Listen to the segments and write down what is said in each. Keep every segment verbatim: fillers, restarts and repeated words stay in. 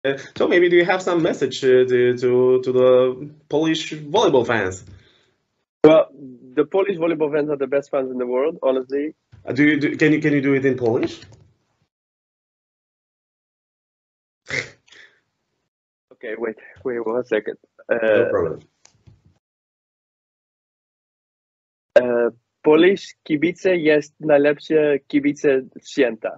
Uh, so maybe do you have some message uh, to, to to the Polish volleyball fans? Well, the Polish volleyball fans are the best fans in the world, honestly. Uh, do you do, can you can you do it in Polish? Okay, wait, wait one second. No Uh, problem. uh, Polish kibice jest najlepsze kibice święta.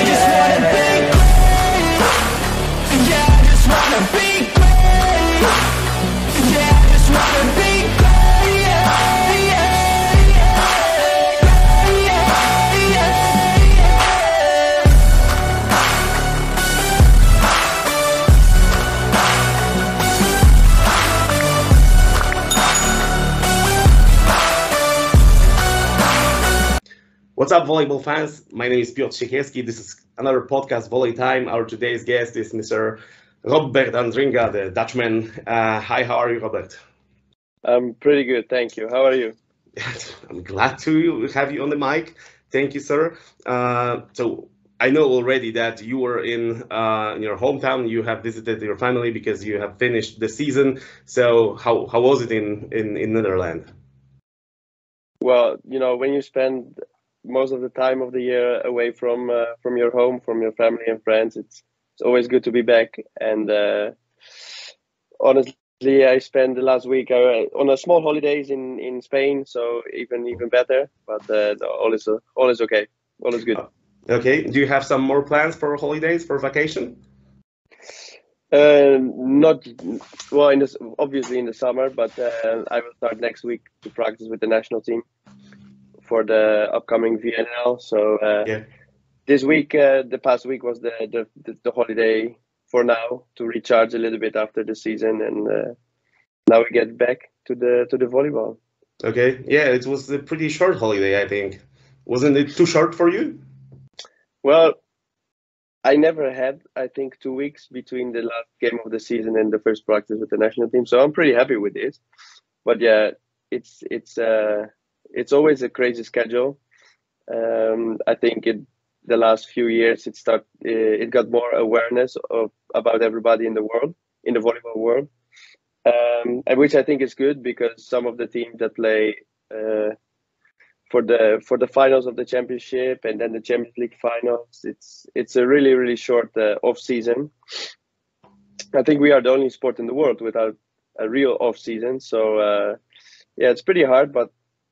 What's up, volleyball fans? My name is Piotr Siekierski. This is another podcast, Volley Time. Our today's guest is Mister Robert Andringa, the Dutchman. Uh, hi, how are you, Robert? I'm pretty good, thank you. How are you? I'm glad to have you on the mic. Thank you, sir. Uh, so I know already that you were in, uh, in your hometown. You have visited your family because you have finished the season. So how, how was it in, in, in Netherlands? Well, you know, when you spend most of the time of the year away from uh, from your home, from your family and friends, it's it's always good to be back. And uh, honestly, I spent the last week uh, on a small holidays in, in Spain, so even even better. But uh, all is uh, all is okay, all is good. Okay. Do you have some more plans for holidays, for vacation? Uh, not well, in this obviously in the summer, but uh, I will start next week to practice with the national team for the upcoming V N L. So uh, Yeah. this week, uh, the past week was the, the the the holiday for now to recharge a little bit after the season, and uh, now we get back to the to the volleyball. Okay. Yeah, it was a pretty short holiday, I think. Wasn't it too short for you? Well, I never had, I think, two weeks between the last game of the season and the first practice with the national team, so I'm pretty happy with this. But yeah, it's it's uh it's always a crazy schedule. Um, I think it the last few years it start it got more awareness of about everybody in the world, in the volleyball world, um, and which I think is good because some of the teams that play uh, for the for the finals of the championship and then the Champions League finals, it's it's a really really short uh, off season. I think we are the only sport in the world without a real off season, so uh, yeah, it's pretty hard, but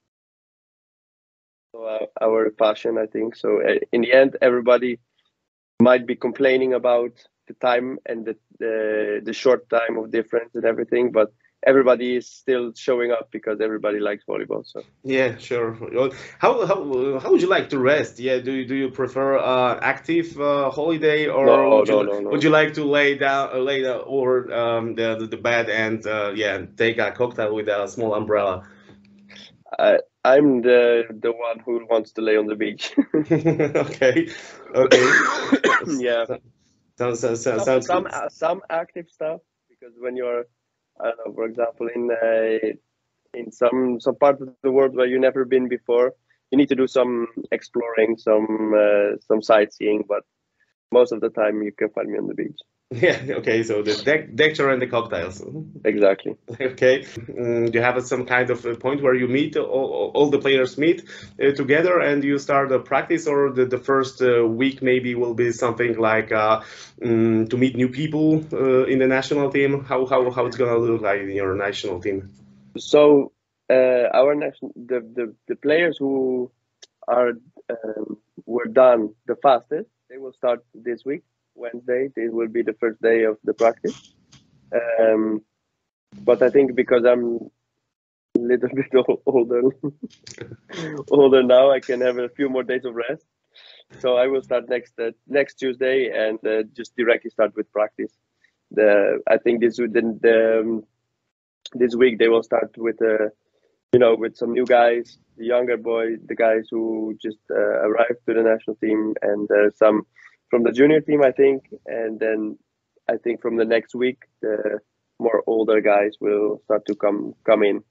uh, our passion, I think. So uh, in the end, everybody might be complaining about the time and the, the the short time of difference and everything, but everybody is still showing up because everybody likes volleyball. So Yeah, sure. Well, How how how would you like to rest? Yeah, do you do you prefer uh, active uh, holiday, or no, would you no, li- no, would no. you like to lay down uh, lay down over um, the, the the bed and uh, yeah, take a cocktail with a small umbrella? I I'm the the one who wants to lay on the beach. Okay, okay. Yeah, Sounds sounds sounds some sounds some good. uh, some active stuff because when you're, I don't know, for example, in uh, in some some part of the world where you've never been before, you need to do some exploring, some uh, some sightseeing. But most of the time, you can find me on the beach. Yeah, okay. So the deck deck chair and the cocktails. Exactly. Okay. Mm, do you have some kind of a point where you meet all, all the players meet uh, together and you start a practice, or the, the first uh, week maybe will be something like uh, mm, to meet new people uh, in the national team? How how how it's gonna look like in your national team? So uh, our national the, the the players who are um, were done the fastest, they will start this week, Wednesday. It will be the first day of the practice. Um, but I think because I'm a little bit o- older, older now, I can have a few more days of rest. So I will start next uh, next Tuesday and uh, just directly start with practice. The I think this would then the um, this week they will start with uh, you know with some new guys, the younger boy, the guys who just uh, arrived to the national team, and uh, some from the junior team, I think, and then I think from the next week the more older guys will start to come come in.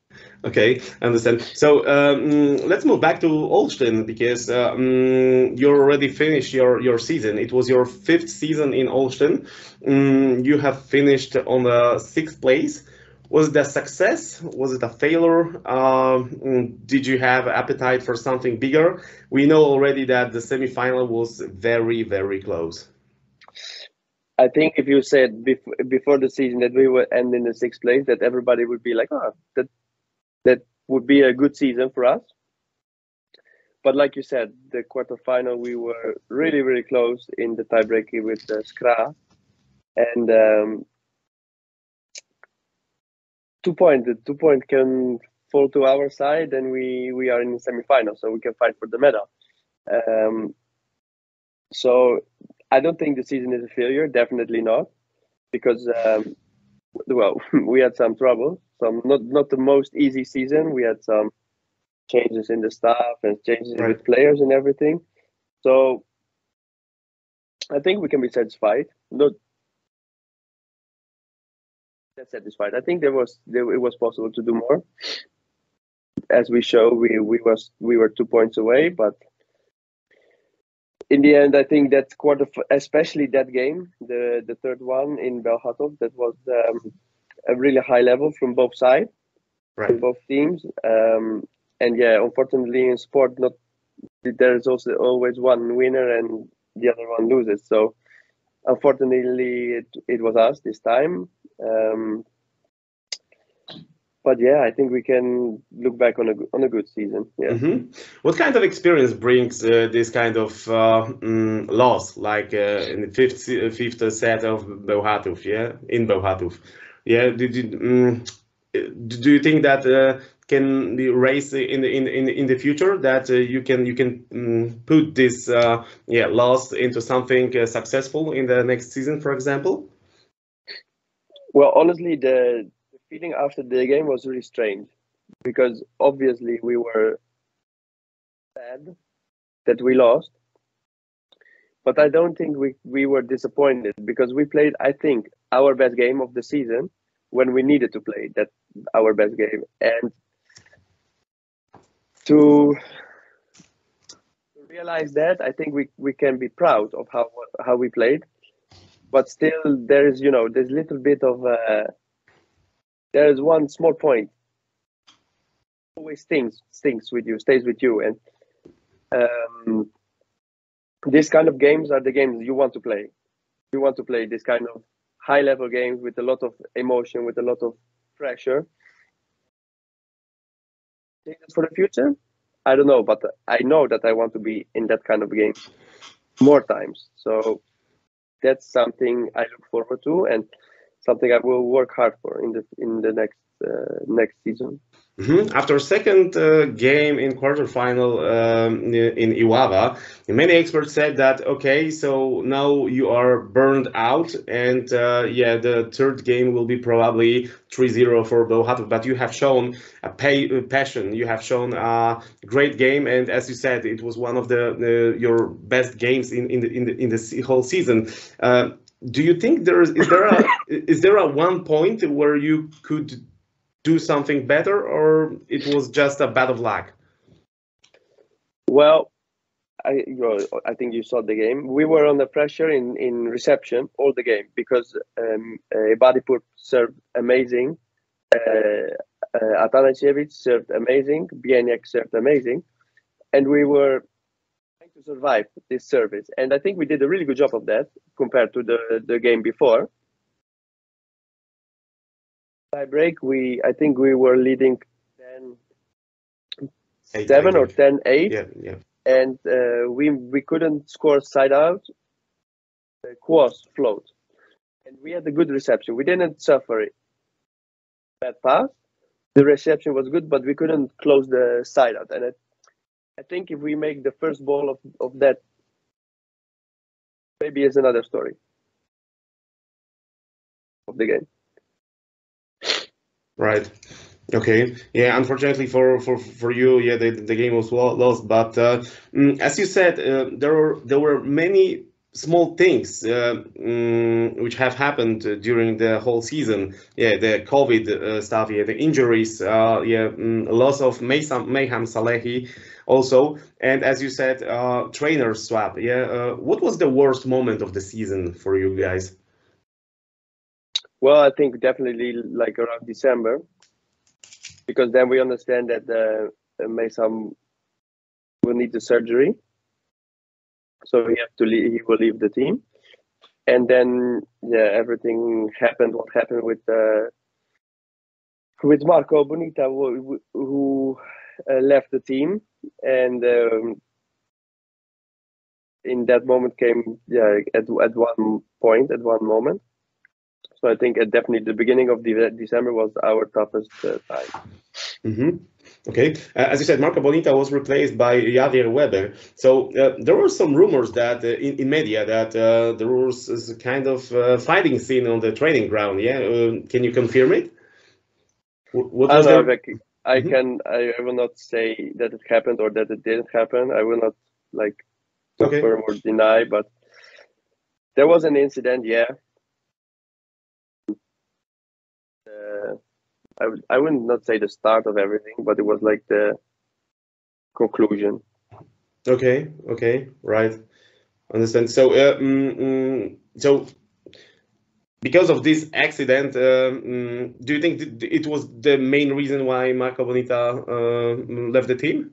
Okay, understand. So um, let's move back to Olsztyn because uh, um, you already finished your, your season. It was your fifth season in Olsztyn. Um, you have finished on the sixth place. Was it a success? Was it a failure? Um, did you have appetite for something bigger? We know already that the semifinal was very, very close. I think if you said before before the season that we would end in the sixth place, that everybody would be like, "Oh, that that would be a good season for us." But like you said, the quarterfinal we were really really close in the tiebreaker with uh, Skra, and um, two point the two point can fall to our side, and we we are in the semifinal, so we can fight for the medal. Um, so I don't think the season is a failure. Definitely not, because um, well, we had some trouble. Some not not the most easy season. We had some changes in the staff and changes Right. with players and everything. So I think we can be satisfied. Not that satisfied. I think there was there, it was possible to do more. As we show, we we was we were two points away, but in the end, I think that quarter, especially that game, the the third one in Bełchatów, that was um, a really high level from both sides, Right. from both teams. Um, and yeah, unfortunately, in sport, not there is also always one winner and the other one loses. So unfortunately, it, it was us this time. Um, but yeah, I think we can look back on a on a good season. Yeah. Mm-hmm. What kind of experience brings uh, this kind of uh, mm, loss, like uh, in the fifth se- fifth set of Bełchatów, yeah, in Bełchatów, yeah? Did you, mm, do you think that uh, can be raised in the in in in the future? That uh, you can you can mm, put this uh, yeah loss into something uh, successful in the next season, for example? Well, honestly, the, the feeling after the game was really strange because obviously we were sad that we lost, but I don't think we, we were disappointed because we played, I think, our best game of the season when we needed to play that our best game. And to realize that, I think we, we can be proud of how how we played, but still there is, you know, there's a little bit of uh, there is one small point always stings stings with you, stays with you, and um, these kind of games are the games you want to play. You want to play this kind of high level games with a lot of emotion, with a lot of pressure. For the future, I don't know, but I know that I want to be in that kind of game more times. So that's something I look forward to, and something I will work hard for in the in the next uh, next season. Mhm. After second uh, game in quarterfinal um, in Iława, many experts said that okay, so now you are burned out, and uh, yeah, the third game will be probably three zero for Bełchatów. But you have shown a pay, uh, passion, you have shown a great game, and as you said, it was one of the, the your best games in in the in the, in the whole season. Uh, do you think there is is there a is there a one point where you could do something better, or it was just a bad of luck? Well, I you know, I think you saw the game. We were under pressure in, in reception all the game because um, uh, Badipur served amazing, uh, uh, Atanasiewicz served amazing, Bieniek served amazing, and we were trying to survive this service. And I think we did a really good job of that compared to the, the game before. Tie break, we I think we were leading ten Eight, seven I or think. ten eight. Yeah, yeah. And uh, we we couldn't score side out. The cross float, and we had a good reception. We didn't suffer it. Bad pass. The reception was good, but we couldn't close the side out. And I, I think if we make the first ball of, of that, maybe it's another story of the game. Right. Okay. Yeah. Unfortunately for for for you, yeah, the the game was lo- lost. But uh, mm, as you said, uh, there were there were many small things uh, um, which have happened uh, during the whole season. Yeah, the COVID uh, stuff. Yeah, the injuries. Uh, yeah, um, loss of Mayham, Mayham Salehi also, and as you said, uh, trainer swap. Yeah, uh, what was the worst moment of the season for you guys? Well, I think definitely like around December, because then we understand that the uh, Mayham will need the surgery, so he have to leave, he will leave the team, and then yeah, everything happened. What happened with uh, with Marco Bonita, who, who uh, left the team, and um, in that moment came yeah at at one point at one moment. So I think uh, definitely the beginning of the December was our toughest uh, time. Mm-hmm. Okay, uh, as you said, Marco Bonita was replaced by Javier Weber. So uh, there were some rumors that uh, in, in media that uh, there was a kind of uh, fighting scene on the training ground. Yeah, uh, can you confirm it? What I was don't know there? if I, I Mhm. can I, I will not say that it happened or that it didn't happen. I will not like Okay. confirm or deny, but there was an incident. Yeah, uh, I would I wouldn't not say the start of everything, but it was like the conclusion. Okay. Okay. Right. Understand. So, uh, mm, mm, so because of this accident, uh, mm, do you think th- it was the main reason why Marco Bonita uh, left the team?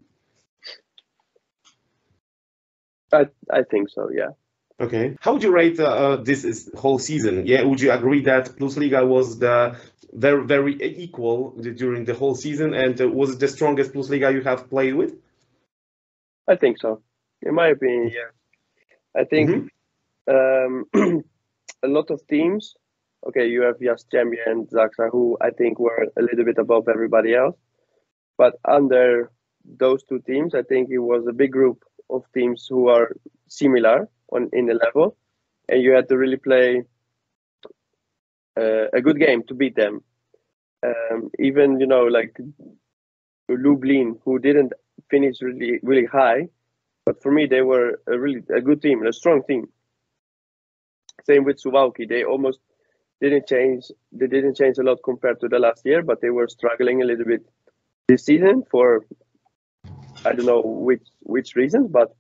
I I think so. Yeah. Okay. How would you rate uh, uh, this is whole season? Yeah, would you agree that Plus Liga was the very very equal during the whole season, and uh, was it the strongest Plus Liga you have played with? I think so. In my opinion, yeah. I think Mm-hmm. um, a lot of teams. Okay, you have Jastrzębie and Zaksa, who I think were a little bit above everybody else. But under those two teams, I think it was a big group of teams who are similar on in the level, and you had to really play uh, a good game to beat them. Um, even you know like Lublin, who didn't finish really really high, but for me they were a really a good team, a strong team. Same with Suwałki, they almost didn't change. They didn't change a lot compared to the last year, but they were struggling a little bit this season for I don't know which which reasons, but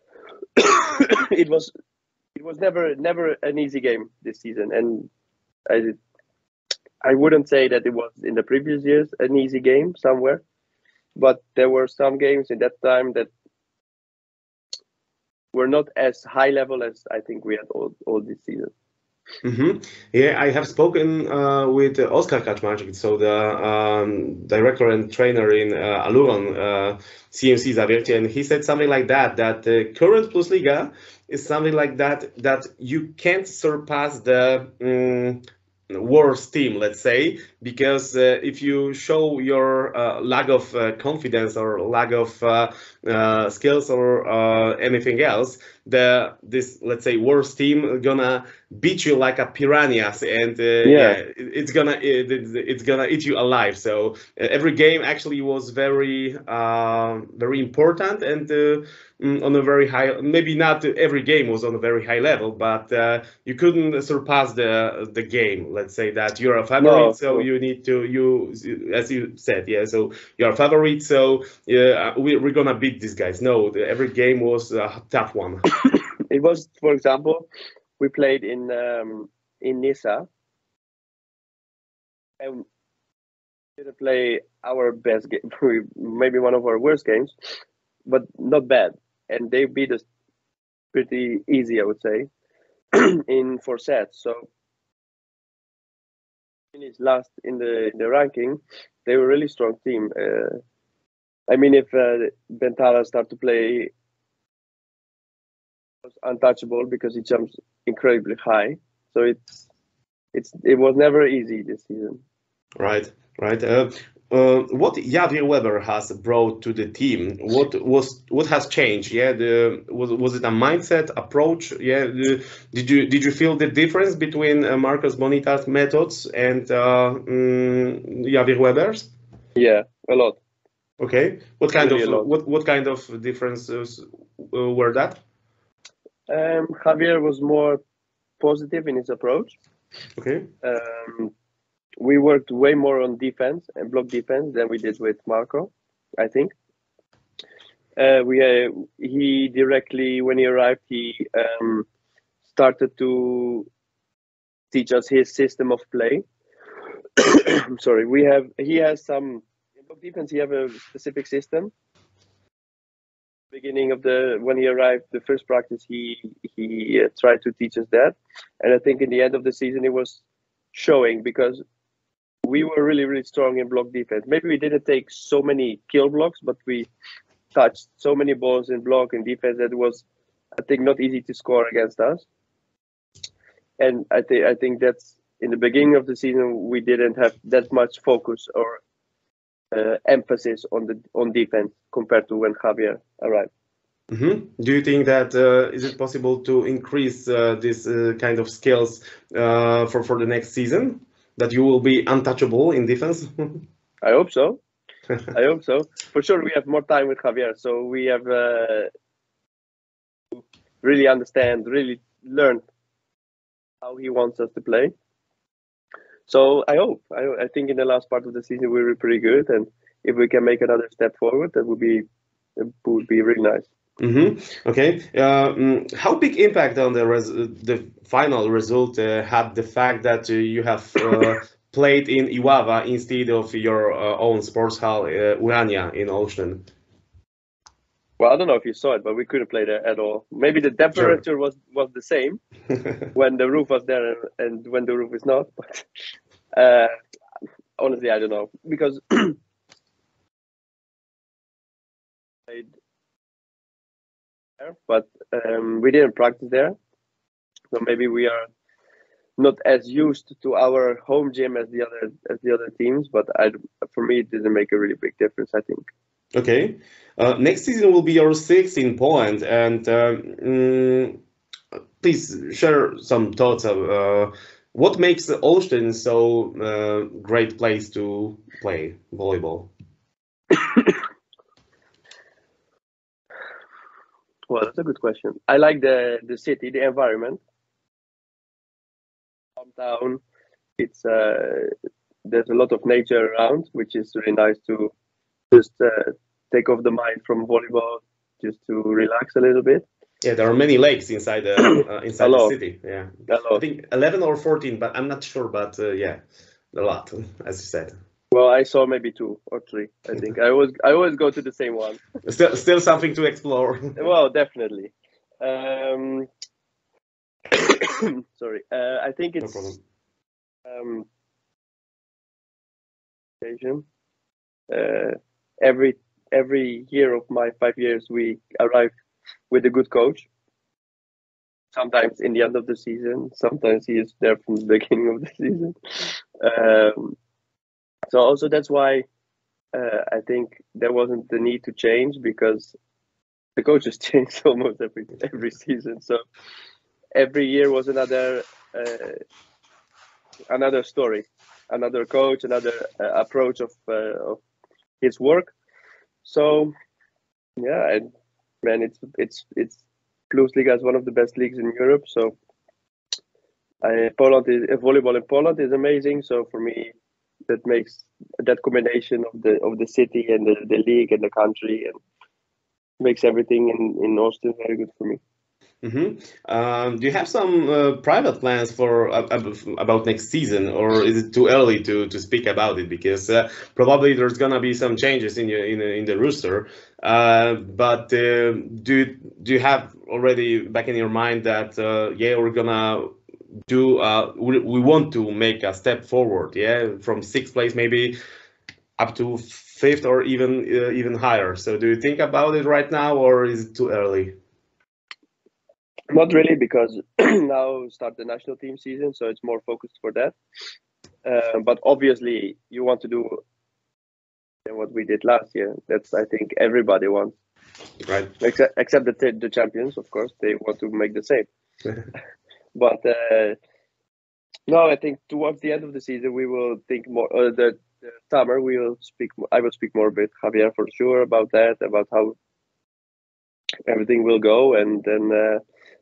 it was it was never never an easy game this season, and I I wouldn't say that it was in the previous years an easy game somewhere, but there were some games in that time that were not as high level as I think we had all, all this season. Mm-hmm. Yeah, I have spoken uh, with uh, Oskar Kaczmarczyk, so the um, director and trainer in uh, Aluron, uh, C M C Zawiercie, and he said something like that, that the current Plus Liga is something like that, that you can't surpass the um, worst team, let's say, because uh, if you show your uh, lack of uh, confidence or lack of uh, uh, skills or uh, anything else, the this let's say worst team gonna beat you like a piranhas, and uh, Yeah, yeah, it, it's gonna it, it's gonna eat you alive. So uh, every game actually was very uh, very important, and uh, mm, on a very high, maybe not every game was on a very high level, but uh, you couldn't surpass the the game. Let's say that you're a favorite, no, so no. you need to you as you said, yeah. So you're a favorite, so yeah, we, we're gonna beat these guys. No, the, every game was a tough one. It was, for example, we played in um, in Nisa, and we didn't play our best game, maybe one of our worst games, but not bad, and they beat us pretty easy, I would say, in four sets. So finished last in the in the ranking. They were a really strong team. Uh, I mean, if uh, Bentala start to play, was untouchable because he jumps incredibly high. So it's it's it was never easy this season. Right, right. Uh, uh, what Javier Weber has brought to the team? What was what has changed? Yeah, the was was it a mindset approach? Yeah, the, did you did you feel the difference between uh, Marcos Bonita's methods and uh, mm, Javier Weber's? Yeah, a lot, Okay, what kind really of a lot. what what kind of differences uh, were that? Um, Javier was more positive in his approach. Okay. Um, we worked way more on defense and block defense than we did with Marco, I think. Uh, we uh, he directly when he arrived, he um, started to teach us his system of play. I'm sorry, we have he has some in block defense. He have a specific system. Beginning of the when he arrived, the first practice, he he uh, tried to teach us that, and I think in the end of the season it was showing because we were really really strong in block defense. Maybe we didn't take so many kill blocks, but we touched so many balls in block and defense that it was, I think, not easy to score against us. And I think I think that's in the beginning of the season we didn't have that much focus or uh, emphasis on the on defense compared to when Javier arrived. Mm-hmm. Do you think that uh, is it possible to increase uh, this uh, kind of skills uh, for for the next season? That you will be untouchable in defense? I hope so. I hope so. For sure, we have more time with Javier, so we have uh, really understand, really learn how he wants us to play. So I hope. I, I think in the last part of the season we were pretty good, and if we can make another step forward, that would be it would be really nice. Mm-hmm. Okay. Uh, mm, how big impact on the res the final result uh, had the fact that uh, you have uh, played in Iława instead of your uh, own sports hall, uh, Urania in Olsztyn? Well, I don't know if you saw it, but we couldn't play there at all. Maybe the temperature Sure. was was the same when the roof was there and, and when the roof is not. But uh, honestly, I don't know because played there, but um, we didn't practice there, so maybe we are not as used to our home gym as the other as the other teams. But I, for me, it didn't make a really big difference, I think. Okay. Uh, next season will be your sixth in Poland, and um, mm, please share some thoughts of uh, what makes Olsztyn so uh, great place to play volleyball. Well, that's a good question. I like the the city, the environment. Downtown, it's uh, there's a lot of nature around, which is really nice to just uh, take off the mind from volleyball, just to relax a little bit. Yeah, there are many lakes inside the uh, inside the city. Yeah, I think eleven or fourteen, but I'm not sure. But uh, yeah, a lot, as you said. Well, I saw maybe two or three. I think I always I always go to the same one. Still, still something to explore. Well, definitely. Um, sorry, uh, I think it's no um, uh, every every year of my five years we arrive with a good coach. Sometimes in the end of the season, sometimes he is there from the beginning of the season. Um, so also that's why uh, I think there wasn't the need to change because the coaches change almost every every season. So every year was another uh, another story, another coach, another uh, approach of uh, of his work. So yeah, and man, it's it's it's Plusliga is one of the best leagues in Europe. So uh, Poland is uh, volleyball in Poland is amazing. So for me, that makes that combination of the of the city and the, the league and the country and makes everything in in Austin very good for me. Mm-hmm. Um, do you have some uh, private plans for uh, about next season, or is it too early to to speak about it? Because uh, probably there's gonna be some changes in your in in the roster. Uh, but uh, do do you have already back in your mind that uh, yeah, we're gonna do uh, we, we want to make a step forward, yeah, from sixth place maybe up to fifth or even uh, even higher. So do you think about it right now, or is it too early? Not really, because now start the national team season, so it's more focused for that. Uh, but obviously, you want to do what we did last year. That's I think everybody wants, right? Except except the the champions, of course, they want to make the same. But uh, no, I think towards the end of the season we will think more. Uh, the, the summer we will speak. I will speak more with Javier for sure about that, about how everything will go, and then. Uh,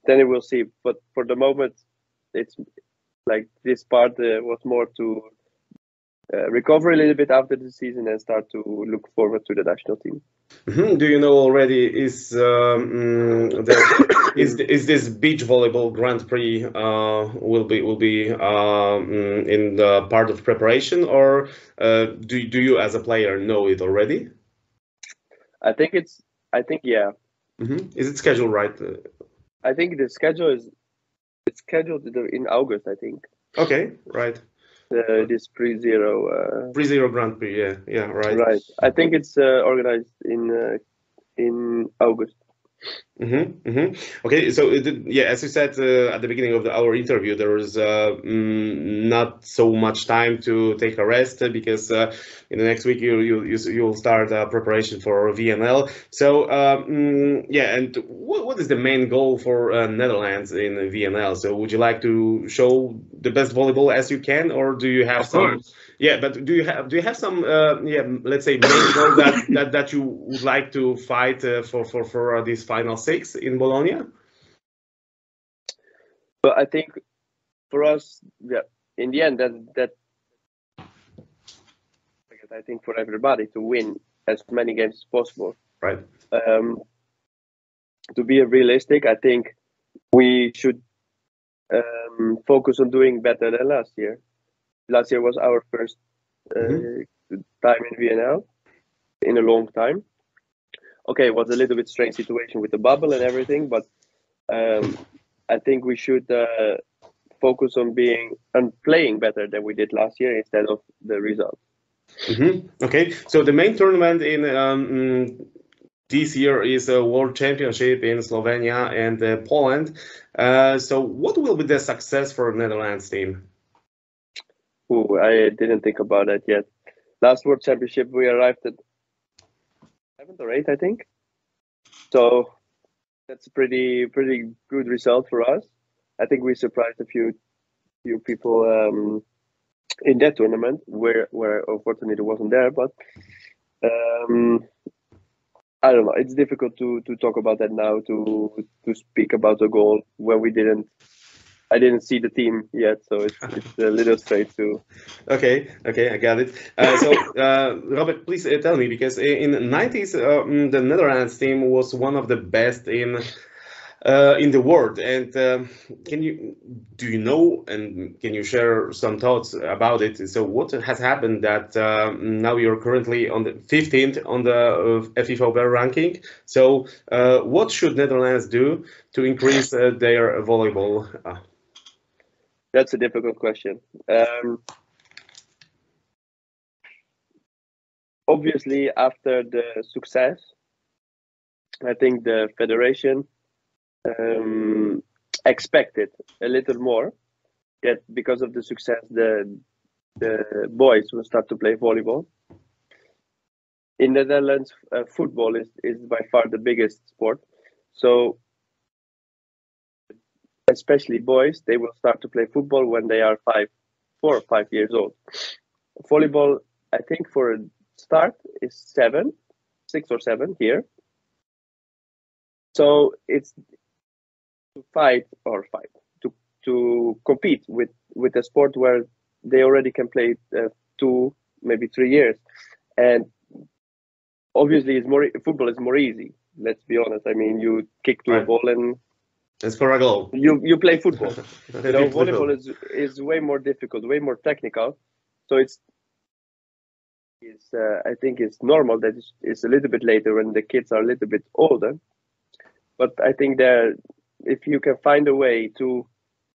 then we'll see. But for the moment, it's like this part uh, was more to uh, recover a little bit after the season and start to look forward to the national team. Mm-hmm. Do you know already is um, the, is is this beach volleyball Grand Prix uh, will be will be um, in the part of preparation, or uh, do do you as a player know it already? I think it's. I think yeah. Mm-hmm. Is it scheduled right? I think the schedule is it's scheduled in August. I think. Okay, right. Uh, this pre-zero. Uh, pre-zero Grand Prix, yeah, yeah, right. Right. I think it's uh, organized in uh, in August. Mm-hmm, mm-hmm. Okay, so it, yeah, as you said uh, at the beginning of the, our interview, there was uh, mm, not so much time to take a rest uh, because uh, in the next week you you you you'll start uh, preparation for V N L. So um, yeah, and what, what is the main goal for uh, Netherlands in V N L? So would you like to show the best volleyball as you can, or do you have Of some? course. Yeah, but do you have do you have some uh, yeah, let's say main goal that, that that you would like to fight uh, for for for uh, this final six in Bologna? But I think for us, yeah, in the end, that that I think for everybody to win as many games as possible. Right. Um, to be realistic, I think we should um, focus on doing better than last year. Last year was our first uh, mm-hmm. time in V N L in a long time. Okay, it was a little bit strange situation with the bubble and everything, but um, I think we should uh, focus on being and playing better than we did last year instead of the result. Mm-hmm. Okay, so the main tournament in um, this year is a World Championship in Slovenia and uh, Poland. Uh, so what will be the success for the Netherlands team? Ooh, I didn't think about that yet. Last World Championship, we arrived at seventh or eighth, I think. So that's a pretty pretty good result for us. I think we surprised a few few people um, in that tournament, where where unfortunately it wasn't there. But um, I don't know. It's difficult to to talk about that now. To to speak about the goal when we didn't. I didn't see the team yet, so it's it's a little straight to. Okay, okay, I got it. Uh, so, uh, Robert, please uh, tell me, because in the nineties, um, the Netherlands team was one of the best in uh, in the world. And um, can you do you know and can you share some thoughts about it? So, what has happened that um, now you're currently on the fifteenth on the uh, F I F A World ranking? So, uh, what should Netherlands do to increase uh, their volleyball? Uh, That's a difficult question. Um, obviously, after the success, I think the federation um, expected a little more. That because of the success, the the boys will start to play volleyball. In the Netherlands, uh, football is, is by far the biggest sport. So especially boys, they will start to play football when they are five, four or five years old. Volleyball, I think for a start is seven, six or seven here. So it's to fight or fight to to compete with with a sport where they already can play uh, two, maybe three years, and obviously it's more football is more easy. Let's be honest. I mean, you kick to right. a ball and. It's for a goal. You you play football. You know, volleyball is is way more difficult, way more technical. So it's is uh, I think it's normal that it's, it's a little bit later when the kids are a little bit older. But I think that if you can find a way to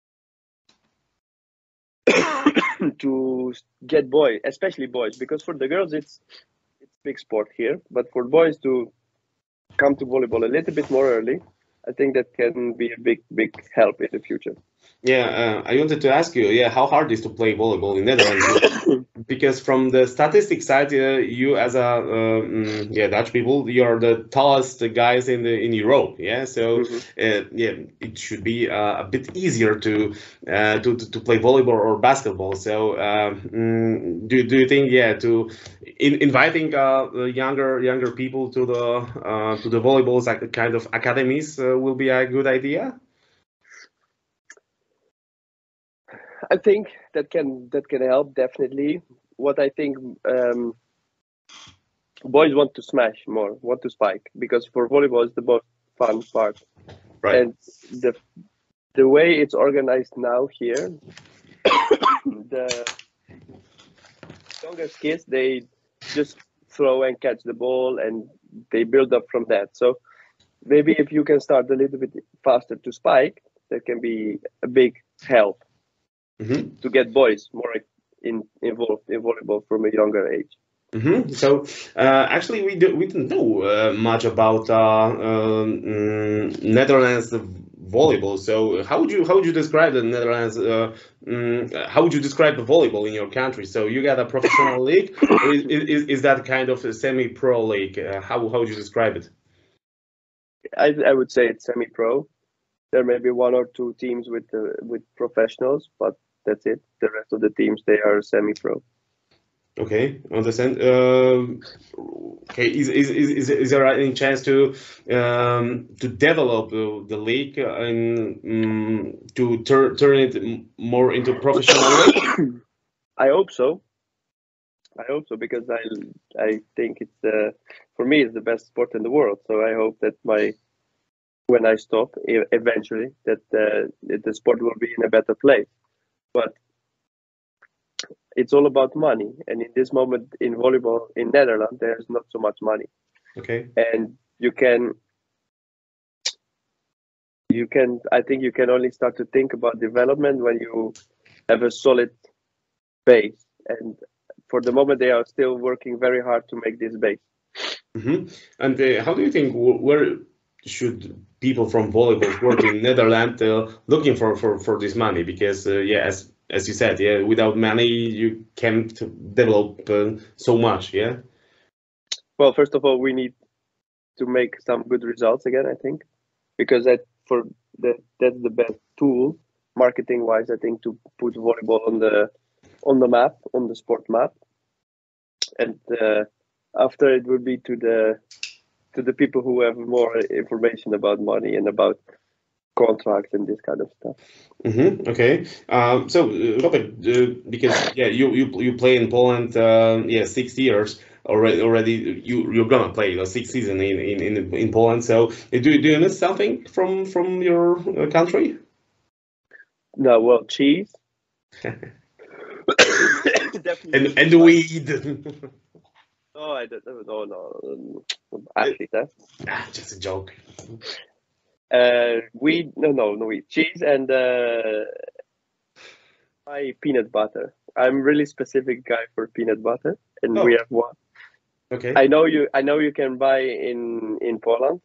to get boys, especially boys, because for the girls it's it's big sport here, but for boys to come to volleyball a little bit more early. I think that can be a big, big help in the future. Yeah, uh, I wanted to ask you, yeah, how hard is to play volleyball in Netherlands? Because from the statistics side, uh, you as a um, yeah Dutch people, you are the tallest guys in the in Europe. Yeah, so mm-hmm. uh, yeah, it should be uh, a bit easier to, uh, to to play volleyball or basketball. So um, do do you think yeah to in, inviting uh, younger younger people to the uh, to the volleyball like kind of academies uh, will be a good idea? I think that can that can help definitely. What I think um, boys want to smash more, want to spike, because for volleyball is the most fun part. Right. And the the way it's organized now here, the youngest kids, they just throw and catch the ball and they build up from that. So maybe if you can start a little bit faster to spike, that can be a big help Mm-hmm. to get boys more in, involved in volleyball from a younger age. Mm-hmm. So uh, actually, we do, we don't know uh, much about uh, um, mm, Netherlands volleyball. So how would you how would you describe the Netherlands? Uh, mm, how would you describe the volleyball in your country? So you got a professional league, or is, is, is that kind of a semi-pro league? Uh, how how would you describe it? I, I would say it's semi-pro. There may be one or two teams with uh, with professionals, but that's it. The rest of the teams, they are semi-pro. Okay, understand. Um, okay, is, is, is, is there any chance to um, to develop uh, the league and um, to tur turn it more into professional league? I hope so. I hope so because I I think it's uh, for me it's the best sport in the world. So I hope that my when I stop e- eventually that uh, the sport will be in a better place. But it's all about money, and in this moment in volleyball in Netherlands, there's not so much money. Okay. And you can, you can. I think you can only start to think about development when you have a solid base. And for the moment, they are still working very hard to make this base. Mm-hmm. And uh, how do you think wh- where should people from volleyball work in Netherlands uh, looking for, for, for this money? Because uh, yeah, as as you said, yeah, without money you can't develop uh, so much. Yeah. Well, first of all, we need to make some good results again. I think because that for that that's the best tool marketing wise. I think to put volleyball on the on the map, on the sport map, and uh, after it would be to the to the people who have more information about money and about contracts and this kind of stuff. Mm-hmm. Okay. Um, so, uh, Robert, uh, because yeah, you you you play in Poland, uh, yeah, six years already. Already, you you're gonna play the sixth season in in in, in Poland. So, uh, do do you miss something from from your uh, country? No, well, cheese. Definitely. And and the weed. Oh, I don't. Oh no, actually, that. Ah, just a joke. Uh, weed. No, no, no weed. Cheese and uh, my peanut butter. I'm really specific guy for peanut butter, and Oh, we have one. okay. I know you. I know you can buy in in Poland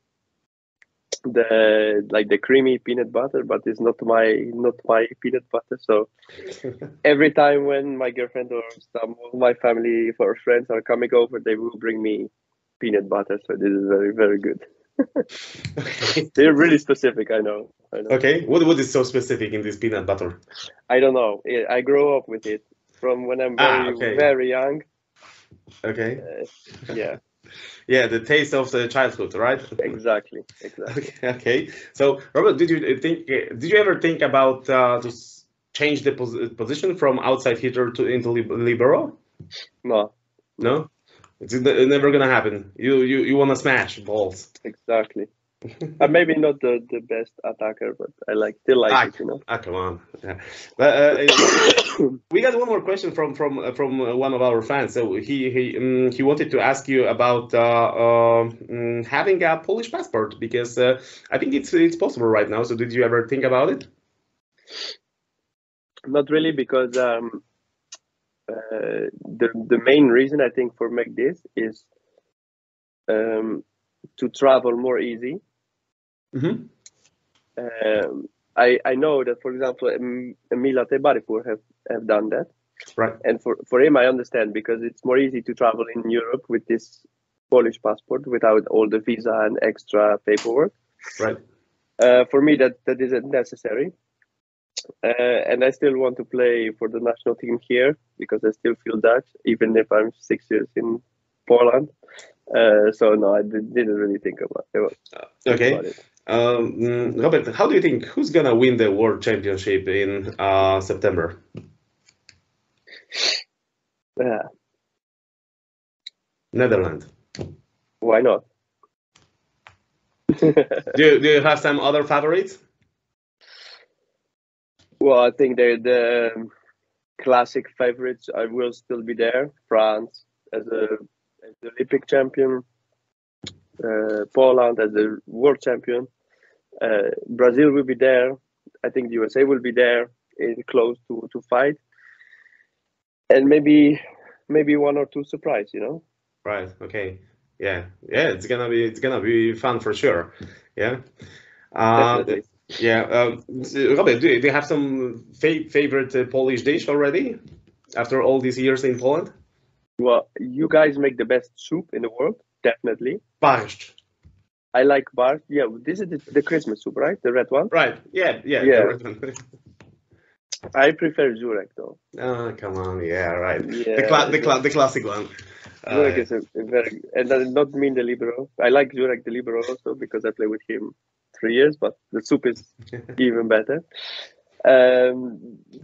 the like the creamy peanut butter, but it's not my not my peanut butter. So every time when my girlfriend or some of my family or friends are coming over, they will bring me peanut butter. So this is very very good. Okay. They're really specific. I know. I know. Okay. What what is so specific in this peanut butter? I don't know. I grow up with it from when I'm Ah, very okay. very young. Okay. Uh, yeah. Yeah, the taste of the childhood, right? Exactly. Exactly. Okay, okay. So, Robert, did you think? Did you ever think about uh, to s- change the pos position from outside hitter to into lib libero? No. No. No, it's n- never gonna happen. You you you wanna smash balls. Exactly. Uh, maybe not the, the best attacker, but I like still like Ah, it, you know. ah, come on. Yeah. But uh, we got one more question from from uh, from uh, one of our fans. So he he um, he wanted to ask you about uh, uh, um, having a Polish passport because uh, I think it's it's possible right now. So did you ever think about it? Not really, because um, uh, the the main reason I think for make this is um, to travel more easy. Mm-hmm. Um, I I know that, for example, Em- Emila Tebaripur have have done that, Right. and for for him I understand because it's more easy to travel in Europe with this Polish passport without all the visa and extra paperwork. Right. Uh, for me, that that isn't necessary. Uh, and I still want to play for the national team here because I still feel Dutch, even if I'm six years in Poland. Uh, so no, I did, didn't really think about, think Okay. about it. Um, Robert, how do you think who's gonna win the World Championship in uh, September? Yeah. Netherlands. Why not? do, you, do you have some other favorites? Well, I think they're the classic favorites. I will still be there. France as a as the Olympic champion, uh, Poland as the world champion, uh, Brazil will be there. I think the U S A will be there in close to, to fight, and maybe maybe one or two surprise. You know. Right. Okay. Yeah. Yeah. It's gonna be it's gonna be fun for sure. Yeah. Uh, Definitely. Yeah. Um, Robert, do you, do you have some fa favorite uh, Polish dish already after all these years in Poland? Well, you guys make the best soup in the world, definitely. Barszcz. I like bar. Yeah, this is the, the Christmas soup, right? The red one. Right. Yeah. Yeah. Yeah. The red one. I prefer Żurek though. Oh, come on. Yeah. Right. Yeah, the cla the, it's cla a- the classic one. Żurek Uh, is a, a very, and I not mean the libero. I like Żurek the libero also because I play with him three years, but the soup is even better. Um,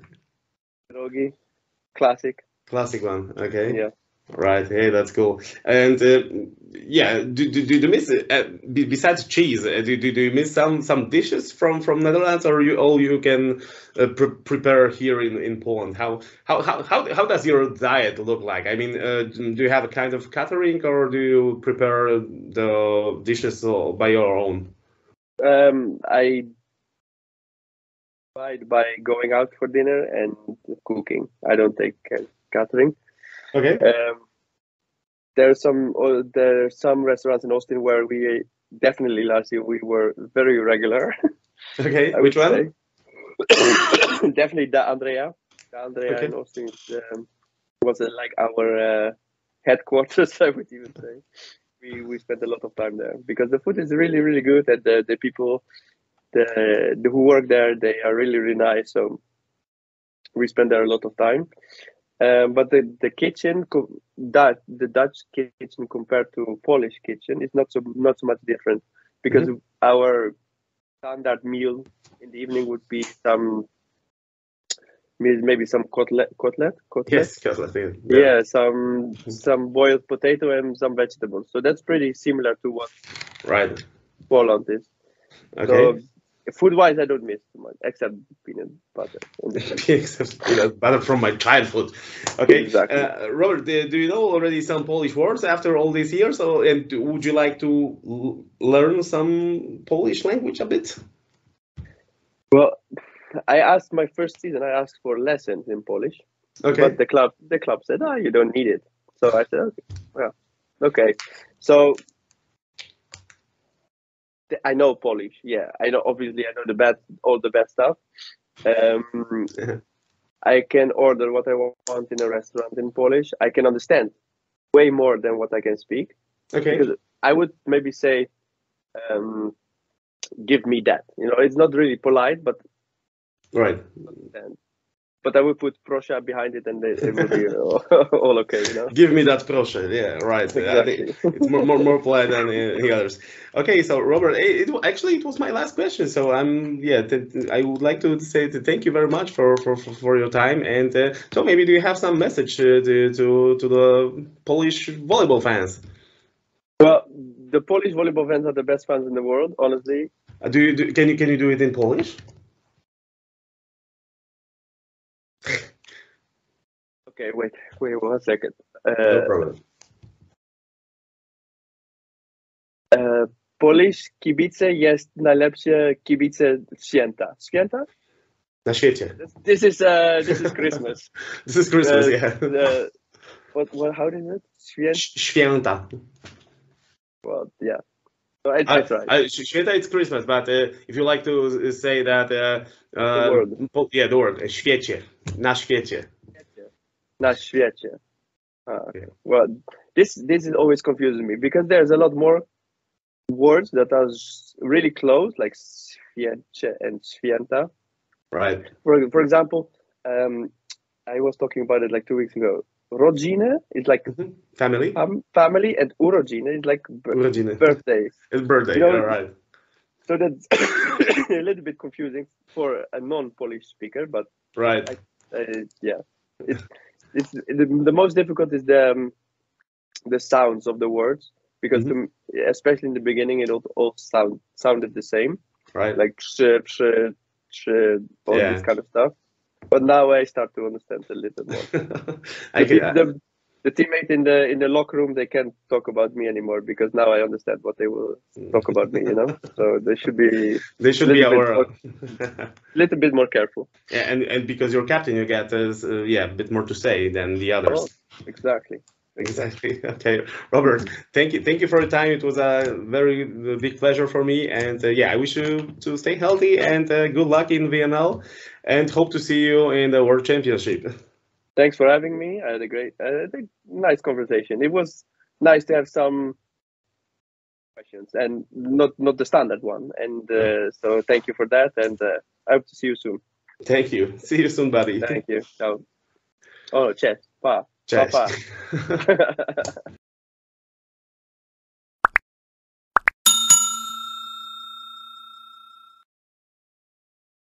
Drogi, classic. classic one. Okay. Yeah. Right. Hey, that's cool. And uh, yeah, do, do, do you miss uh, be- besides cheese? Uh, do, do, do you miss some some dishes from from Netherlands, or you all you can uh, pre prepare here in, in Poland? How, how how how how does your diet look like? I mean, uh, do you have a kind of catering, or do you prepare the dishes uh, by your own? Um, I divide by going out for dinner and cooking. I don't take uh, catering. Okay. Um, there's some uh, there's some restaurants in Austin where we definitely last year we were very regular. Okay. I Which would one? say. Definitely Da Andrea. Da Andrea Okay. in Austin um, was uh, like our uh, headquarters. I would even say we we spent a lot of time there because the food is really really good and the the people the, the who work there they are really really nice. So we spend there a lot of time. Um, but the, the kitchen, co- that the Dutch kitchen compared to Polish kitchen is not so not so much different because our standard meal in the evening would be some may- maybe some cutlet, cutlet, cutlet. Yes. Cutlet, yeah. Yeah, some some boiled potato and some vegetables. So that's pretty similar to what Right. Poland is. Okay. So food-wise, I don't miss too much except peanut butter. in the center. Except peanut butter from my childhood. Okay, Exactly. uh, Robert, do, do you know already some Polish words after all these years? Or, and do- would you like to l- learn some Polish language a bit? Well, I asked my first season. I asked for lessons in Polish, Okay, but the club the club said, "Oh, you don't need it." So I said, "Okay, well, okay." So th- I know Polish. Yeah, I know. Obviously, I know the bad, all the bad stuff. Um, I can order what I want in a restaurant in Polish. I can understand way more than what I can speak okay, because I would maybe say, um, "Give me that." You know, it's not really polite, but right. understand. But I would put Proscia behind it, and it, it will be all, all okay. You know. Give me that proszę. Yeah, right. I think Exactly. it's more more, more polite than uh, the others. Okay, so Robert, it, it actually it was my last question. So I'm yeah, th- I would like to say to thank you very much for for, for, for your time. And uh, so maybe do you have some message uh, to, to to the Polish volleyball fans? Well, the Polish volleyball fans are the best fans in the world, honestly. Uh, do you do, can you can you do it in Polish? Okay, wait, wait one second. No Uh, problem. uh, Polish kibice jest najlepsze kibice święta. Święta? Na świecie. This, this is uh, this is Christmas. This is Christmas, Uh, yeah. uh, what, what? How is it? Święta. Ś- Święta. Well, yeah. So I, I Uh, tried. uh, sh- Święta it's Christmas, but uh, if you like to uh, say that, uh, uh, The word. po- yeah, the word, uh, świecie, na świecie. Na świecie. Ah, Yeah. well, this this is always confusing me because there's a lot more words that are s- really close, like świecie and święta. Right. For for example, um, I was talking about it like two weeks ago. Rodziny is like Mhm. Family. um, family, and urodziny is like b- Urodziny. birthday. It's birthday, You know, all right. so that's a little bit confusing for a non-Polish speaker, but right. I, uh, yeah, it's it's the, the most difficult is the um, the sounds of the words, because Mhm. the, especially in the beginning it all, all sound sounded the same, Right. like przy, przy, przy, all Yeah. this kind of stuff. But now I start to understand a little more. I The, can, team- the, the teammate in the in the locker room, they can't talk about me anymore because now I understand what they will talk about me. You know, so they should be they should be little bit our. more- little bit more careful. Yeah, and and because you're captain, you get uh, yeah a bit more to say than the others. Oh, exactly. Exactly. Okay, Robert, thank you, thank you for your time. It was a very uh, big pleasure for me, and uh, yeah, I wish you to stay healthy and uh, good luck in V M L, and hope to see you in the World Championship. Thanks for having me. I had a great, I had a nice conversation. It was nice to have some questions and not not the standard one. And uh, so thank you for that. And uh, I hope to see you soon. Thank you. See you soon, buddy. Thank you. Ciao. Oh, cześć. Pa. Pa, Cześć. pa.